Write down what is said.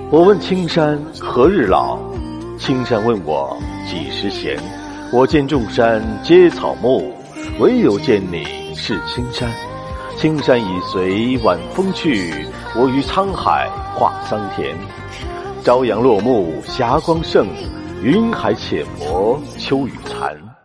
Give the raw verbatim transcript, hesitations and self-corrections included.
我问青山何日老，青山问我几时闲。我见众山皆草木，唯有见你是青山。青山已随晚风去，我于沧海化桑田。朝阳落幕霞光盛，云海浅薄秋雨残。